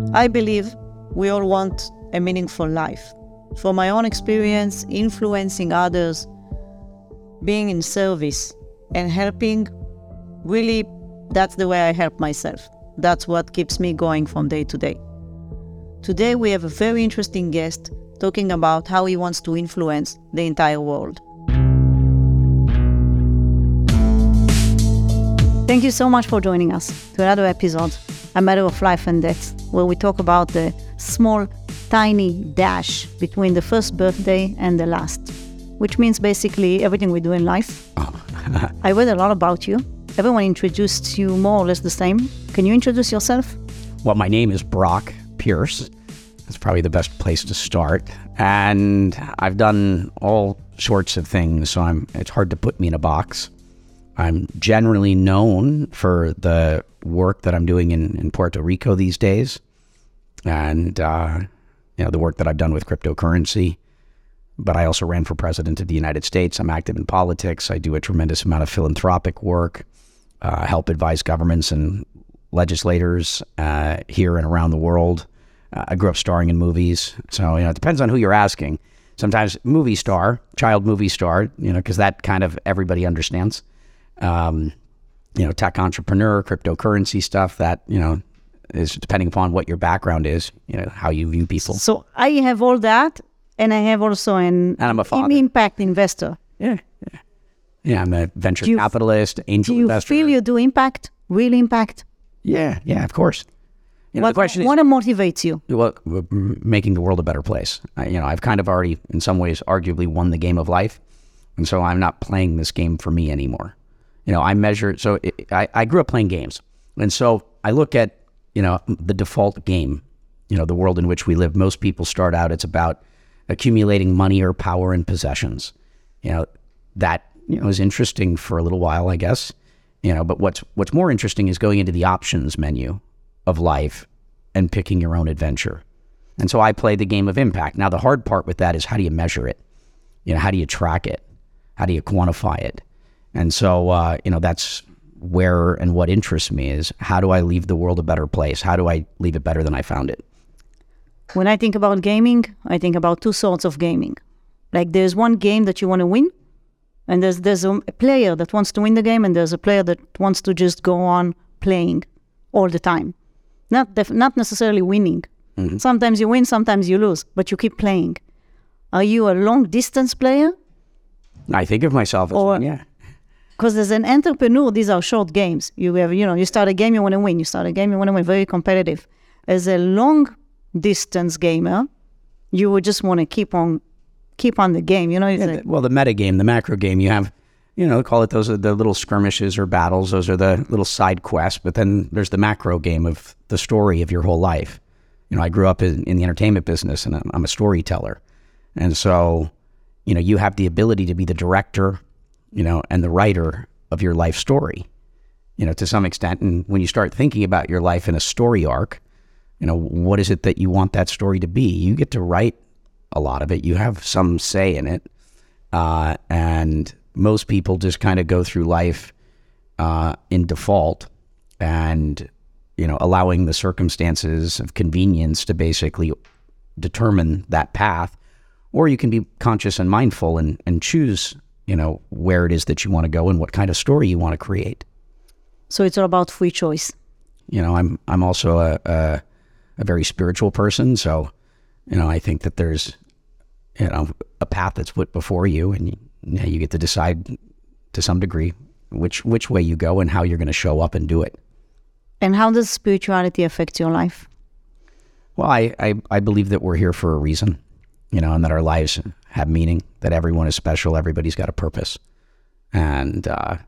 I believe we all want a meaningful life. From my own experience, influencing others, being in service and helping, really, that's the way I help myself. That's what keeps me going from day to day. Today we have a very interesting guest talking about how he wants to influence the entire world. Thank you so much for joining us to another episode, A Matter of Life and Death, where we talk about the small, tiny dash between the first birthday and the last, which means basically everything we do in life. I read a lot about you. Everyone introduced you more or less the same. Can you introduce yourself? Well, my name is Brock Pierce. That's probably the best place to start. And I've done all sorts of things, so it's hard to put me in a box. I'm generally known for the work that I'm doing in Puerto Rico these days, and the work that I've done with cryptocurrency. But I also ran for president of the United States. I'm active in politics. I do a tremendous amount of philanthropic work, help advise governments and legislators here and around the world. I grew up starring in movies, so it depends on who you're asking. Sometimes movie star, child movie star, because that kind of everybody understands. Tech entrepreneur, cryptocurrency stuff, that, is depending upon what your background is, how you view people. So I have all that, and I have also and I'm a father. Impact investor. Yeah, I'm a venture capitalist, angel investor. Do you feel you do impact, real impact? Yeah, of course. The question is, what motivates you? Well, making the world a better place. I've kind of already, in some ways, arguably won the game of life, and so I'm not playing this game for me anymore. I grew up playing games. And so I look at, the default game, the world in which we live. Most people start out, it's about accumulating money or power and possessions. That, is interesting for a little while, I guess. But what's more interesting is going into the options menu of life and picking your own adventure. And so I play the game of impact. Now, the hard part with that is, how do you measure it? How do you track it? How do you quantify it? And so, that's where and what interests me is, how do I leave the world a better place? How do I leave it better than I found it? When I think about gaming, I think about two sorts of gaming. Like, there's one game that you want to win, and there's a player that wants to win the game, and there's a player that wants to just go on playing all the time. Not necessarily winning. Mm-hmm. Sometimes you win, sometimes you lose, but you keep playing. Are you a long-distance player? I think of myself as one, yeah. Because as an entrepreneur, these are short games. You have, you start a game, you want to win. You start a game, you want to win. Very competitive. As a long-distance gamer, you would just want to keep on the game. The meta game, the macro game, you have, call it, those are the little skirmishes or battles. Those are the little side quests. But then there's the macro game of the story of your whole life. I grew up in the entertainment business, and I'm a storyteller. And so, you have the ability to be the director, and the writer of your life story, to some extent. And when you start thinking about your life in a story arc, what is it that you want that story to be? You get to write a lot of it. You have some say in it. And most people just kind of go through life in default and, allowing the circumstances of convenience to basically determine that path. Or you can be conscious and mindful and choose, where it is that you want to go and what kind of story you want to create. So it's all about free choice. I'm also a very spiritual person. So, I think that there's, a path that's put before you, and you get to decide to some degree which way you go and how you're going to show up and do it. And how does spirituality affect your life? Well, I believe that we're here for a reason. And that our lives have meaning, that everyone is special, everybody's got a purpose, and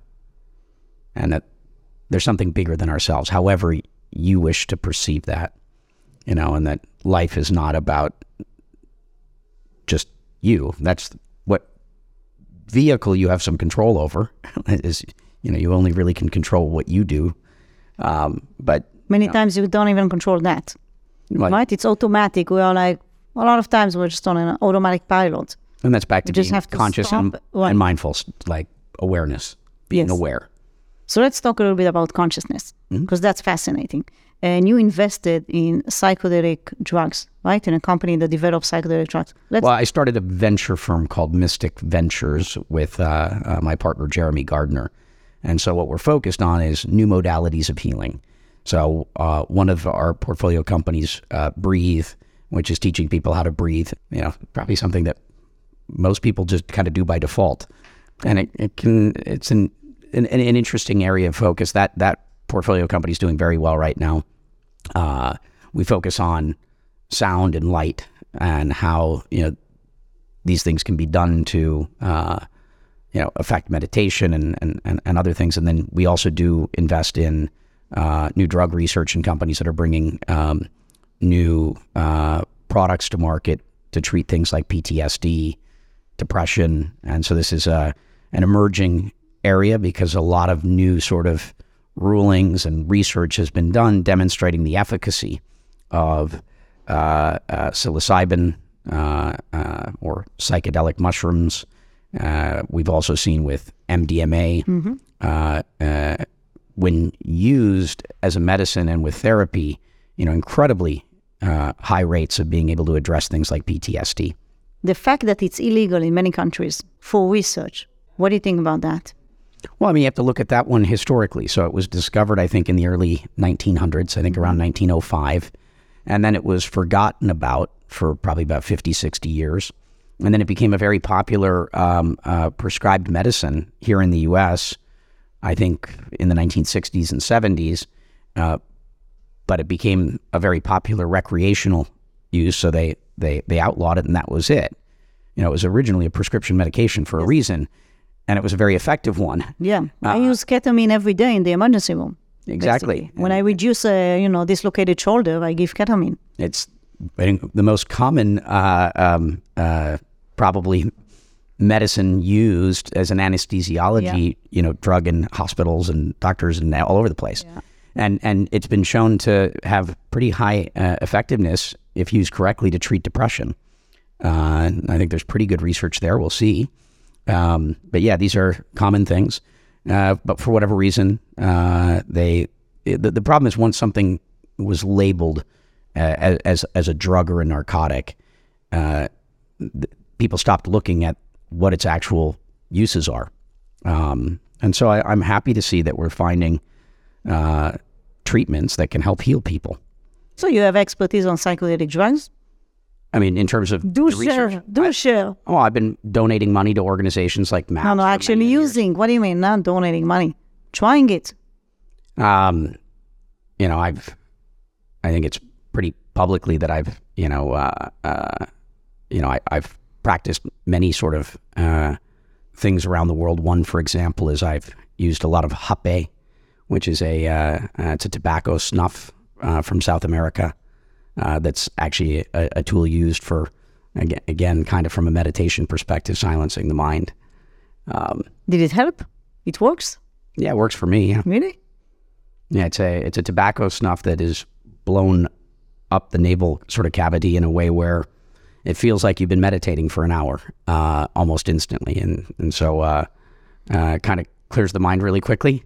that there's something bigger than ourselves, however you wish to perceive that, and that life is not about just you. That's what vehicle you have some control over is, you only really can control what you do. But many times you don't even control that, right? It's automatic. We are like, a lot of times we're just on an automatic pilot. And that's back to being conscious and mindful, like awareness, being aware. So let's talk a little bit about consciousness, because that's fascinating. and you invested in psychedelic drugs, right? In a company that develops psychedelic drugs. Well, I started a venture firm called Mystic Ventures with my partner, Jeremy Gardner. And so what we're focused on is new modalities of healing. So one of our portfolio companies, Breathe, which is teaching people how to breathe, probably something that most people just kind of do by default. And it's an interesting area of focus. That portfolio company is doing very well right now. We focus on sound and light and how these things can be done to affect meditation and other things. And then we also do invest in new drug research and companies that are bringing new products to market to treat things like PTSD, depression. And so this is an emerging area because a lot of new sort of rulings and research has been done demonstrating the efficacy of psilocybin or psychedelic mushrooms. We've also seen with MDMA, when used as a medicine and with therapy, incredibly high rates of being able to address things like PTSD. The fact that it's illegal in many countries for research, what do you think about that? Well, you have to look at that one historically. So it was discovered, I think, in the early 1900s, I think around 1905. And then it was forgotten about for probably about 50, 60 years. And then it became a very popular prescribed medicine here in the U.S., I think in the 1960s and 70s. But it became a very popular recreational use, so they outlawed it, and that was it. It was originally a prescription medication for a reason, and it was a very effective one. Yeah, I use ketamine every day in the emergency room. Exactly. Basically. When I reduce a dislocated shoulder, I give ketamine. It's I think the most common probably medicine used as an anesthesiology drug in hospitals and doctors and all over the place. Yeah. And it's been shown to have pretty high effectiveness if used correctly to treat depression. I think there's pretty good research there. We'll see. But yeah, these are common things. But for whatever reason, the problem is once something was labeled as a drug or a narcotic, people stopped looking at what its actual uses are. And so I'm happy to see that we're finding treatments that can help heal people. So you have expertise on psychedelic drugs? I mean, in terms of research. Share. Oh, I've been donating money to organizations like MAPS. No, actually using. What do you mean? Not donating money. Trying it. I think it's pretty publicly that I've practiced many sort of things around the world. One, for example, is I've used a lot of hape, which is it's a tobacco snuff from South America. That's actually a tool used for, again, kind of from a meditation perspective, silencing the mind. Did it help? It works? Yeah, it works for me. Yeah. Really? Yeah, it's a tobacco snuff that is blown up the navel sort of cavity in a way where it feels like you've been meditating for an hour, almost instantly, and so kind of clears the mind really quickly.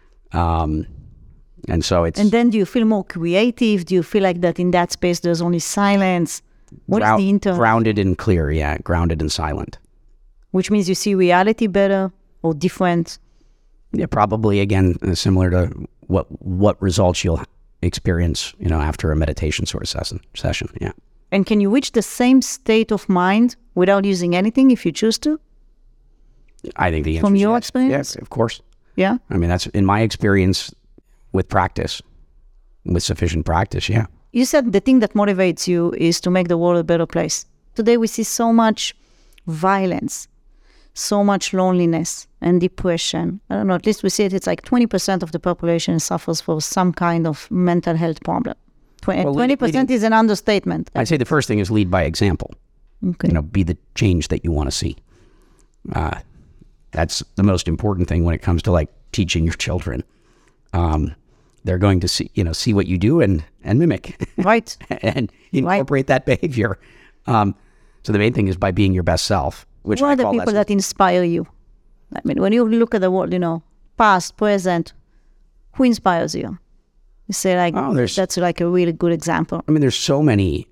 And so it's... And then do you feel more creative? Do you feel like that in that space there's only silence? What is the inter... Grounded and clear, yeah. Grounded and silent. Which means you see reality better or different? Yeah, probably, again, similar to what results you'll experience, after a meditation sort of session, yeah. And can you reach the same state of mind without using anything if you choose to? I think the answer From is your yes. experience? Yes, of course. Yeah? I mean, that's in my experience with practice, with sufficient practice, yeah. You said the thing that motivates you is to make the world a better place. Today we see so much violence, so much loneliness and depression. I don't know, at least we see it. It's like 20% of the population suffers from some kind of mental health problem. 20% is an understatement. I'd say the first thing is lead by example. Okay. Be the change that you want to see. That's the most important thing when it comes to like teaching your children. They're going to see what you do and mimic. Right. And incorporate that behavior. So the main thing is by being your best self. What are the people that inspire you? I mean, when you look at the world, past, present, who inspires you? You say like, that's like a really good example. I mean, there's so many,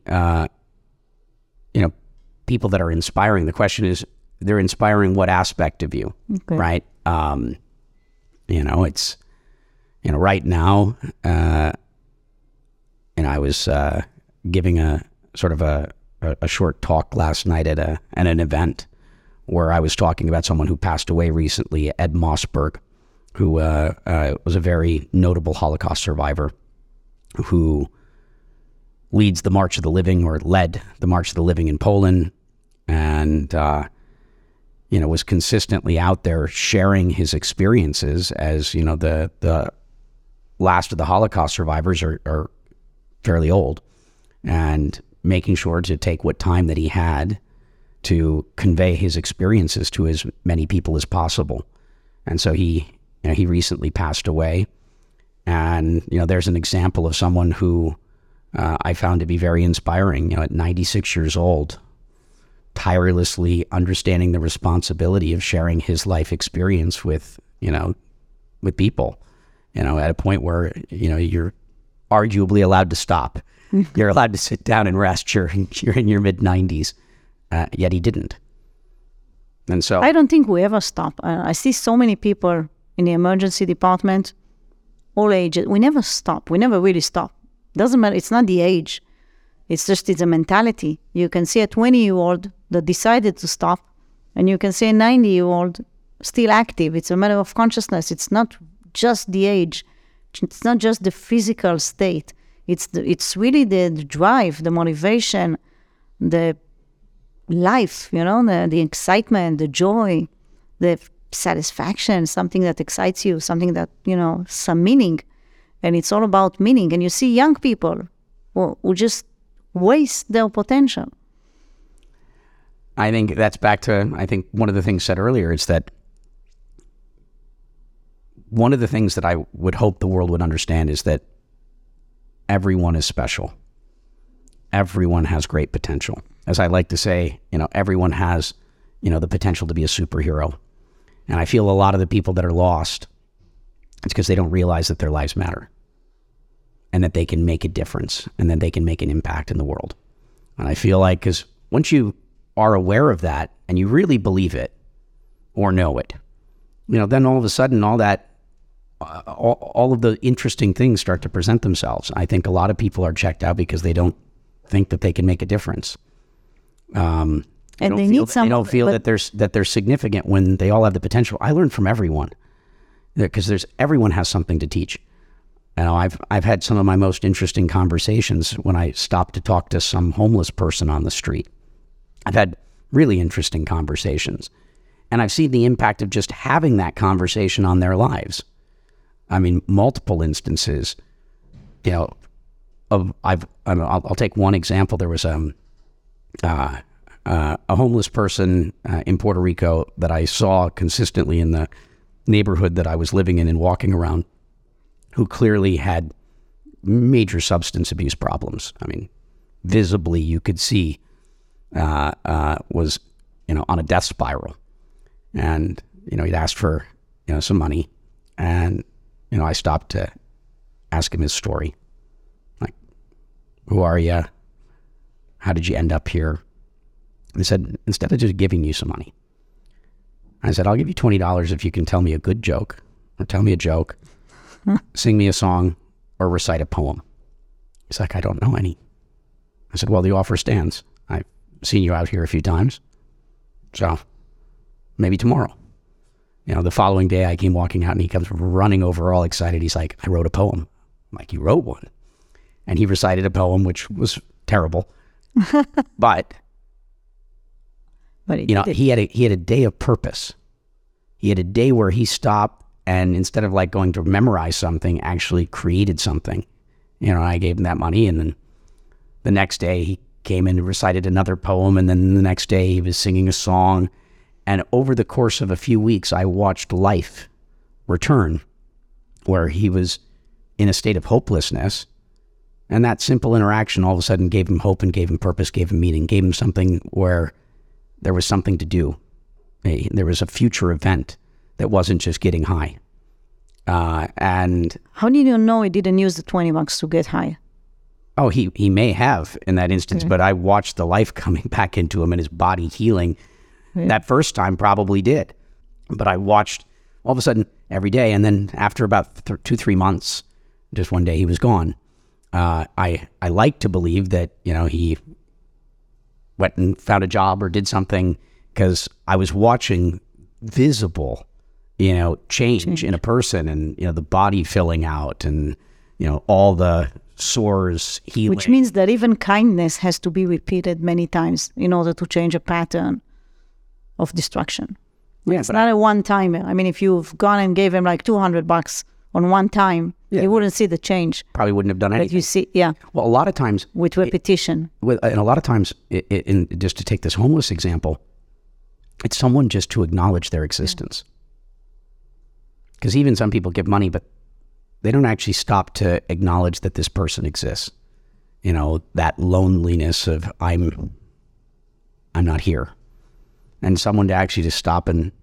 people that are inspiring. The question is, they're inspiring what aspect of you, right? It's, right now, I was giving a sort of a short talk last night at an event where I was talking about someone who passed away recently, Ed Mossberg, who was a very notable Holocaust survivor who leads the March of the Living, or led the March of the Living in Poland, and was consistently out there sharing his experiences as, the last of the Holocaust survivors are fairly old, and making sure to take what time that he had to convey his experiences to as many people as possible. And so he recently passed away. And, there's an example of someone who I found to be very inspiring, at 96 years old, tirelessly understanding the responsibility of sharing his life experience with people, at a point where, you're arguably allowed to stop. You're allowed to sit down and rest. You're in your mid-90s, yet he didn't. And so I don't think we ever stop. I see so many people in the emergency department, all ages. We never stop. We never really stop. Doesn't matter. It's not the age. It's a mentality. You can see a 20-year-old that decided to stop, and you can see a 90-year-old still active. It's a matter of consciousness. It's not just the age. It's not just the physical state. It's really the drive, the motivation, the life, the excitement, the joy, the satisfaction, something that excites you, something that, some meaning. And it's all about meaning. And you see young people who just waste their potential. I think that's back to, one of the things said earlier, is that one of the things that I would hope the world would understand is that everyone is special. Everyone has great potential. As I like to say, everyone has, the potential to be a superhero. And I feel a lot of the people that are lost, it's because they don't realize that their lives matter and that they can make a difference and that they can make an impact in the world. And I feel like, because once you are aware of that and you really believe it or know it, then all of a sudden all of the interesting things start to present themselves. I think a lot of people are checked out because they don't think that they can make a difference. They don't feel that they're significant when they all have the potential. I learn from everyone, because everyone has something to teach. I've had some of my most interesting conversations when I stop to talk to some homeless person on the street. I've had really interesting conversations, and I've seen the impact of just having that conversation on their lives. I mean, multiple instances. I'll take one example. There was a homeless person in Puerto Rico that I saw consistently in the neighborhood that I was living in and walking around, who clearly had major substance abuse problems. I mean, visibly you could see was on a death spiral, and he'd asked for some money, and I stopped to ask him his story, like, who are you? How did you end up here? He said, instead of just giving you some money, I said, I'll give you $20 if you can tell me a good joke, or tell me a joke, sing me a song, or recite a poem. He's like, I don't know any. I said, well, the offer stands. I've seen you out here a few times, so maybe tomorrow. The following day I came walking out and he comes running over all excited. He's like, I wrote a poem. I'm like, you wrote one? And he recited a poem, which was terrible. But he had a day of purpose. He had a day where he stopped, and instead of like going to memorize something, actually created something. I gave him that money, and then the next day he came in and recited another poem, and then the next day he was singing a song. And over the course of a few weeks, I watched life return, where he was in a state of hopelessness. And that simple interaction all of a sudden gave him hope and gave him purpose, gave him meaning, gave him something where there was something to do. There was a future event that wasn't just getting high. And how did you know he didn't use the $20 to get high? oh, he may have in that instance, but I watched the life coming back into him and his body healing. That first time probably did. But I watched all of a sudden every day. And then after about 2-3 months, just one day he was gone. I like to believe that, he went and found a job or did something, because I was watching visible, change in a person, and, the body filling out, and, all the sores healing. Which means that even kindness has to be repeated many times in order to change a pattern of destruction. Yeah, it's not a one-timer. I mean, if you've gone and gave him like $200 on one time, you wouldn't see the change. Probably wouldn't have done anything. But you see, Well, a lot of times... with repetition. And a lot of times, just to take this homeless example, it's someone just to acknowledge their existence. Because even some people give money, but they don't actually stop to acknowledge that this person exists. That loneliness of I'm not here. And someone to actually just stop and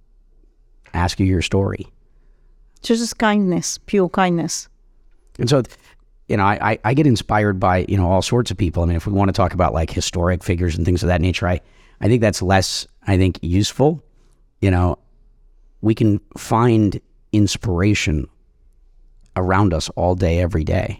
ask you your story. Just kindness, pure kindness. And so, I get inspired by, all sorts of people. I mean, if we want to talk about like historic figures and things of that nature, I think that's less, useful. We can find inspiration around us all day, every day.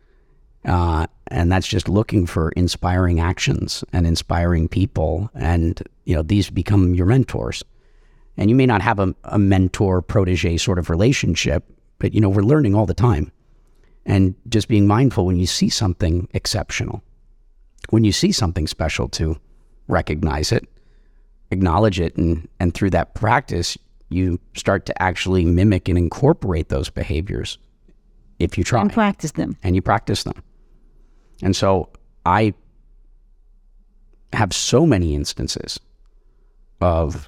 And that's just looking for inspiring actions and inspiring people. And, these become your mentors. And you may not have a mentor-protege sort of relationship, but, we're learning all the time. And just being mindful when you see something exceptional, when you see something special, to recognize it, acknowledge it, and through that practice, you start to actually mimic and incorporate those behaviors if you try. And practice them. And you practice them. And so I have so many instances of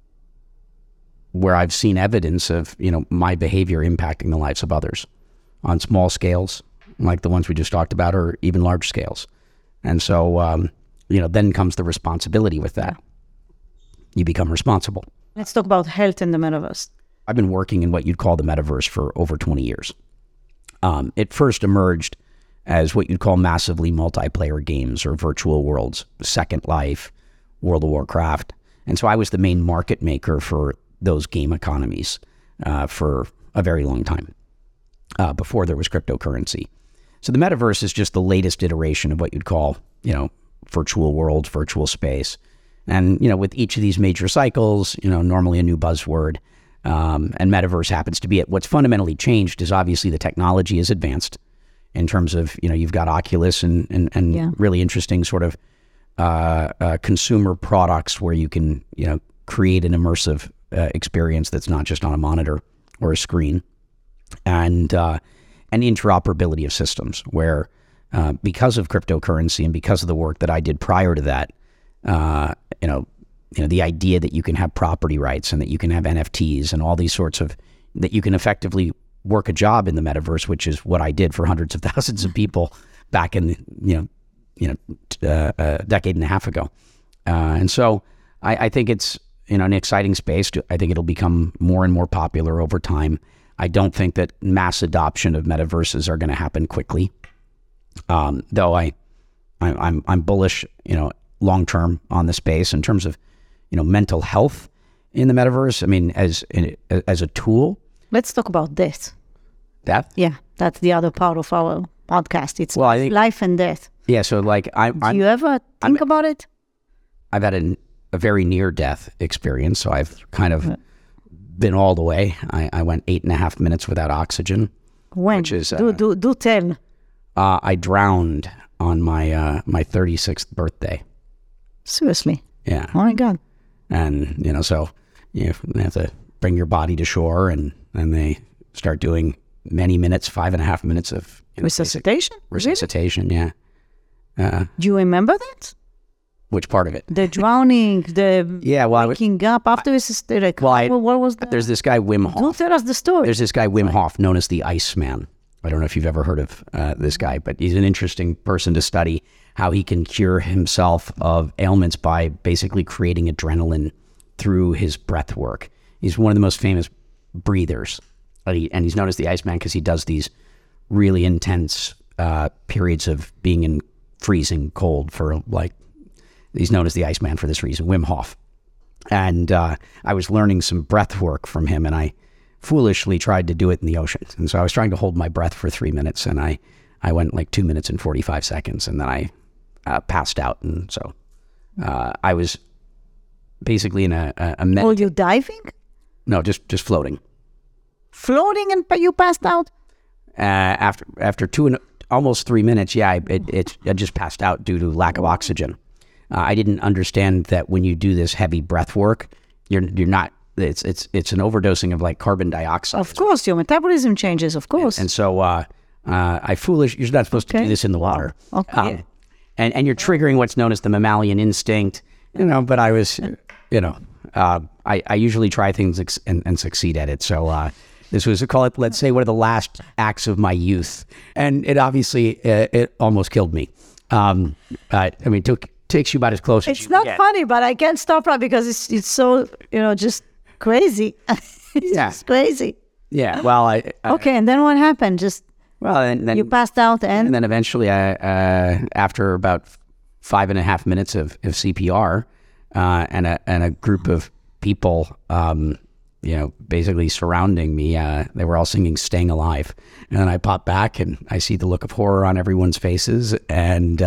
where I've seen evidence of, my behavior impacting the lives of others on small scales, like the ones we just talked about, or even large scales. And so, then comes the responsibility with that. You become responsible. Let's talk about health in the metaverse. I've been working in what you'd call the metaverse for over 20 years. It first emerged as what you'd call massively multiplayer games or virtual worlds, Second Life, World of Warcraft. And so I was the main market maker for those game economies for a very long time, before there was cryptocurrency. So the metaverse is just the latest iteration of what you'd call, virtual worlds, virtual space. And, with each of these major cycles, normally a new buzzword, and metaverse happens to be it. What's fundamentally changed is obviously the technology is advanced in terms of, you've got Oculus and really interesting sort of consumer products where you can, create an immersive experience that's not just on a monitor or a screen, and interoperability of systems where, because of cryptocurrency and because of the work that I did prior to that, the idea that you can have property rights and that you can have NFTs and all these sorts of, that you can effectively work a job in the metaverse, which is what I did for hundreds of thousands of people back in, a decade and a half ago. And so I think it's, an exciting space. I think it'll become more and more popular over time. I don't think that mass adoption of metaverses are going to happen quickly. Though I'm bullish, long term on the space in terms of, mental health in the metaverse. I mean, as a tool. Let's talk about death. Death? Yeah, that's the other part of our podcast. It's I think, life and death. Yeah, so like do you ever think about it? I've had a very near-death experience, so I've kind of been all the way. I went 8.5 minutes without oxygen. When? Which is, do tell. I drowned on my 36th birthday. Seriously? Yeah. Oh my God. And, so you have to bring your body to shore, and they start doing many minutes, 5.5 minutes of resuscitation? Resuscitation, really? Yeah. Do you remember that? Which part of it? The drowning, the waking up after resuscitation. What was that? There's this guy, Wim Hof. Don't tell us the story. There's this guy, Wim Hof, known as the Iceman. I don't know if you've ever heard of this guy, but he's an interesting person to study, how he can cure himself of ailments by basically creating adrenaline through his breath work. He's one of the most famous breathers and he's known as the Iceman because he does these really intense periods of being in freezing cold for like, he's known as the Iceman for this reason, Wim Hof. And I was learning some breath work from him, and I foolishly tried to do it in the ocean. And so I was trying to hold my breath for 3 minutes, and I went like 2 minutes and 45 seconds, and then I passed out. And so I was basically in a Oh, you diving? No, just floating. Floating and you passed out? After almost 3 minutes, I just passed out due to lack of oxygen. I didn't understand that when you do this heavy breath work, you're not. It's an overdosing of like carbon dioxide. Of course, your metabolism changes. Of course. And so you're not supposed to do this in the water. Okay. And you're triggering what's known as the mammalian instinct. But I was, I usually try things and succeed at it. So this was, let's say, one of the last acts of my youth. And it obviously, it almost killed me. Takes you about as close as you It's not get. funny, but I can't stop that because it's so, just crazy. It's just crazy. Yeah. Well, Okay, and then what happened? and then You passed out and then eventually, after about 5.5 minutes of CPR, and a group of people, basically surrounding me, they were all singing "Staying Alive," and then I pop back and I see the look of horror on everyone's faces, and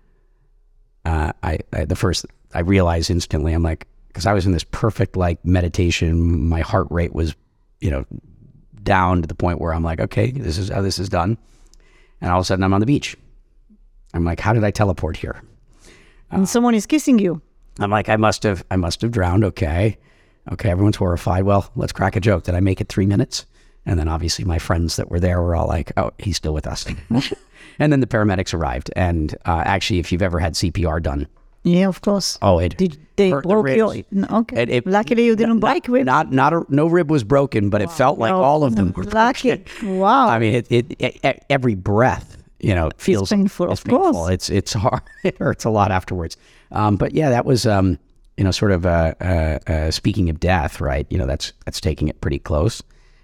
I realized instantly, I'm like, because I was in this perfect like meditation, my heart rate was, down to the point where I'm like, okay, this is how this is done. And all of a sudden I'm on the beach. I'm like, how did I teleport here? and someone is kissing you. I'm like, I must have drowned. Okay, everyone's horrified. Well, let's crack a joke. Did I make it 3 minutes? And then obviously my friends that were there were all like, oh, he's still with us. And then the paramedics arrived. And actually, if you've ever had CPR done. Yeah, of course. Oh, it Did they hurt the broke your... ribs. No, okay. Luckily you didn't break ribs. No rib was broken, but it felt like all of them were lucky. broken. Wow. I mean, it every breath, feels painful, it's of course. painful. It's hard. It hurts a lot afterwards. But yeah, that was sort of speaking of death, right? That's taking it pretty close.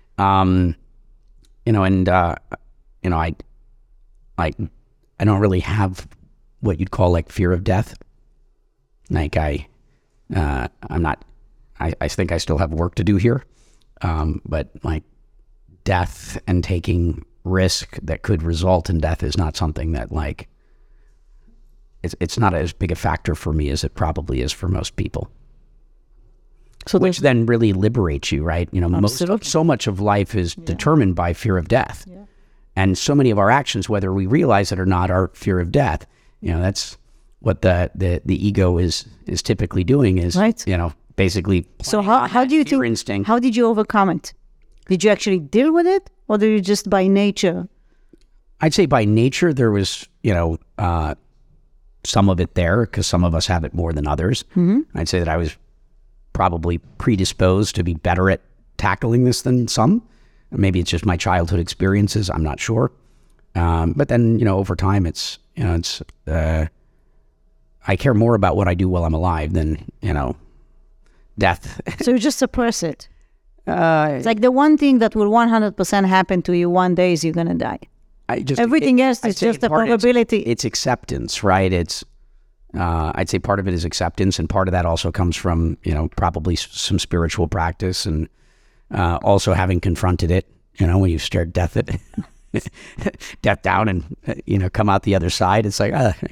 I don't really have what you'd call like fear of death. Like I'm not. I think I still have work to do here, but like death and taking risk that could result in death is not something that like. It's not as big a factor for me as it probably is for most people. So which then really liberates you, right? So much of life is determined by fear of death. Yeah. And so many of our actions, whether we realize it or not, are fear of death. That's what the ego is typically doing is, right. Basically. So how do you think, instinct. How did you overcome it? Did you actually deal with it, or did you just by nature? I'd say by nature there was, some of it there because some of us have it more than others. Mm-hmm. I'd say that I was probably predisposed to be better at tackling this than some. Maybe it's just my childhood experiences. I'm not sure. But then, over time, I care more about what I do while I'm alive than, death. So you just suppress it. It's like the one thing that will 100% happen to you one day is you're going to die. Everything else is just a probability. It's acceptance, right? I'd say part of it is acceptance, and part of that also comes from, probably some spiritual practice, and also having confronted it, when you've stared death down and, come out the other side. It's like, I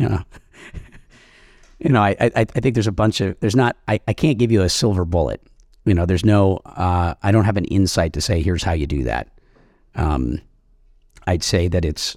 think there's I can't give you a silver bullet. There's no, I don't have an insight to say, here's how you do that. I'd say that it's,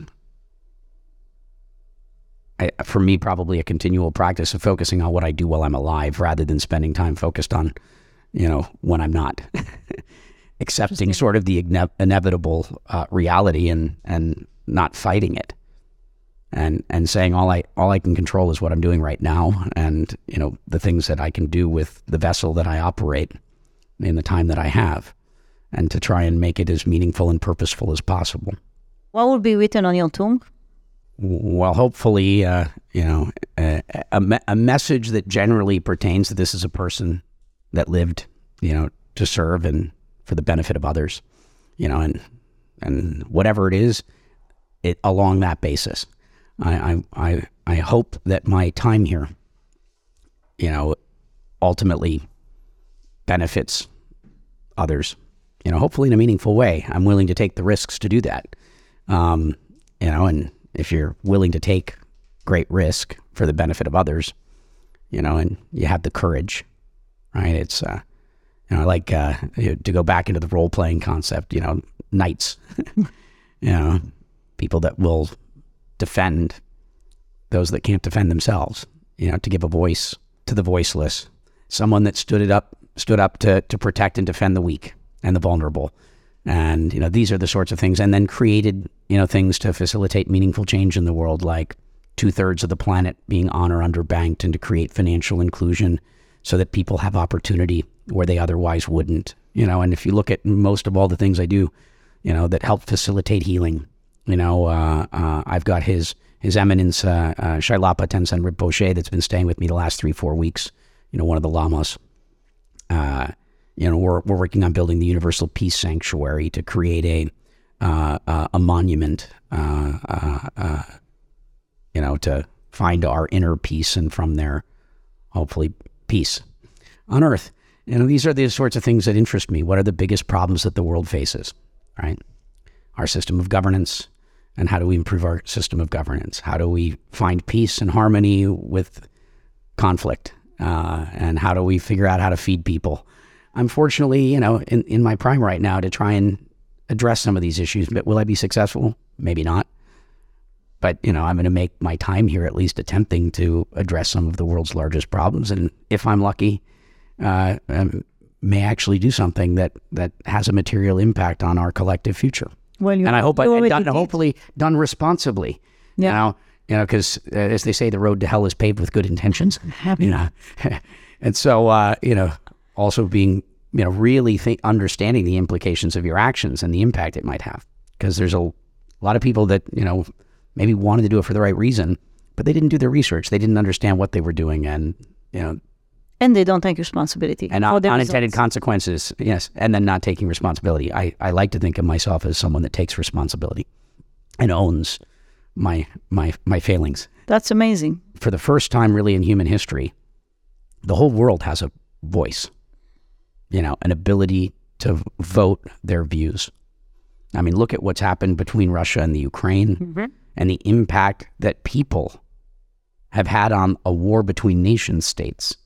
for me, probably a continual practice of focusing on what I do while I'm alive rather than spending time focused on, when I'm not. Accepting sort of the inevitable reality and not fighting it. And saying all I can control is what I'm doing right now, and, the things that I can do with the vessel that I operate in the time that I have, and to try and make it as meaningful and purposeful as possible. What will be written on your tomb? Well, hopefully, a message that generally pertains that this is a person that lived, to serve and for the benefit of others. and whatever it is, along that basis. I hope that my time here, ultimately benefits others, hopefully in a meaningful way. I'm willing to take the risks to do that. And if you're willing to take great risk for the benefit of others, and you have the courage, right? It's, I like to go back into the role-playing concept, knights, people that will defend those that can't defend themselves, to give a voice to the voiceless, someone that stood up to protect and defend the weak and the vulnerable. And, these are the sorts of things, and then created, things to facilitate meaningful change in the world, like 2/3 of the planet being on or underbanked, and to create financial inclusion so that people have opportunity where they otherwise wouldn't, and if you look at most of all the things I do, that help facilitate healing, I've got His Eminence, Shailapa Tenzin Rinpoche, that's been staying with me the last 3-4 weeks, one of the lamas. We're working on building the Universal Peace Sanctuary to create a monument, to find our inner peace, and from there, hopefully, peace on earth. These are the sorts of things that interest me. What are the biggest problems that the world faces, right? Our system of governance, and how do we improve our system of governance? How do we find peace and harmony with conflict? And how do we figure out how to feed people? I'm fortunately, in my prime right now to try and address some of these issues. But will I be successful? Maybe not. But, I'm going to make my time here at least attempting to address some of the world's largest problems. And if I'm lucky, may actually do something that has a material impact on our collective future. Well, and I hope hopefully done responsibly. Yeah. Because as they say, the road to hell is paved with good intentions. And so, also being, really understanding the implications of your actions and the impact it might have. Because there's a lot of people that, maybe wanted to do it for the right reason, but they didn't do their research. They didn't understand what they were doing, and, and they don't take responsibility. And unintended consequences, yes, and then not taking responsibility. I like to think of myself as someone that takes responsibility and owns my failings. That's amazing. For the first time really in human history, the whole world has a voice, an ability to vote their views. I mean, look at what's happened between Russia and the Ukraine, and the impact that people have had on a war between nation states.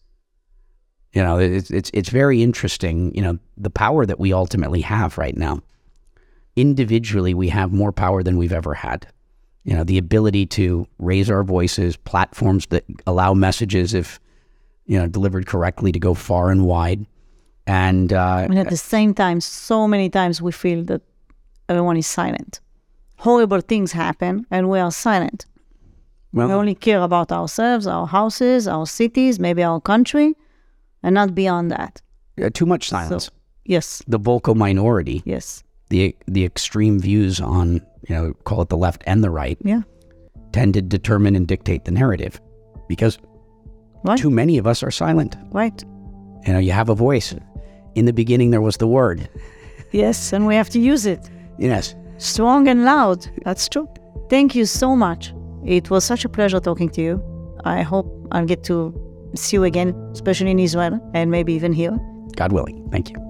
It's very interesting, the power that we ultimately have right now. Individually, we have more power than we've ever had. The ability to raise our voices, platforms that allow messages, if, delivered correctly, to go far and wide. And at the same time, so many times we feel that everyone is silent. Horrible things happen and we are silent. Well, we only care about ourselves, our houses, our cities, maybe our country, and not beyond that. Too much silence. So, yes. The vocal minority. Yes. The extreme views on, call it the left and the right, tend to determine and dictate the narrative, because too many of us are silent. Right. You have a voice. In the beginning, there was the word. Yes, and we have to use it. Yes. Strong and loud. That's true. Thank you so much. It was such a pleasure talking to you. I hope I'll get to see you again, especially in Israel, and maybe even here. God willing. Thank you.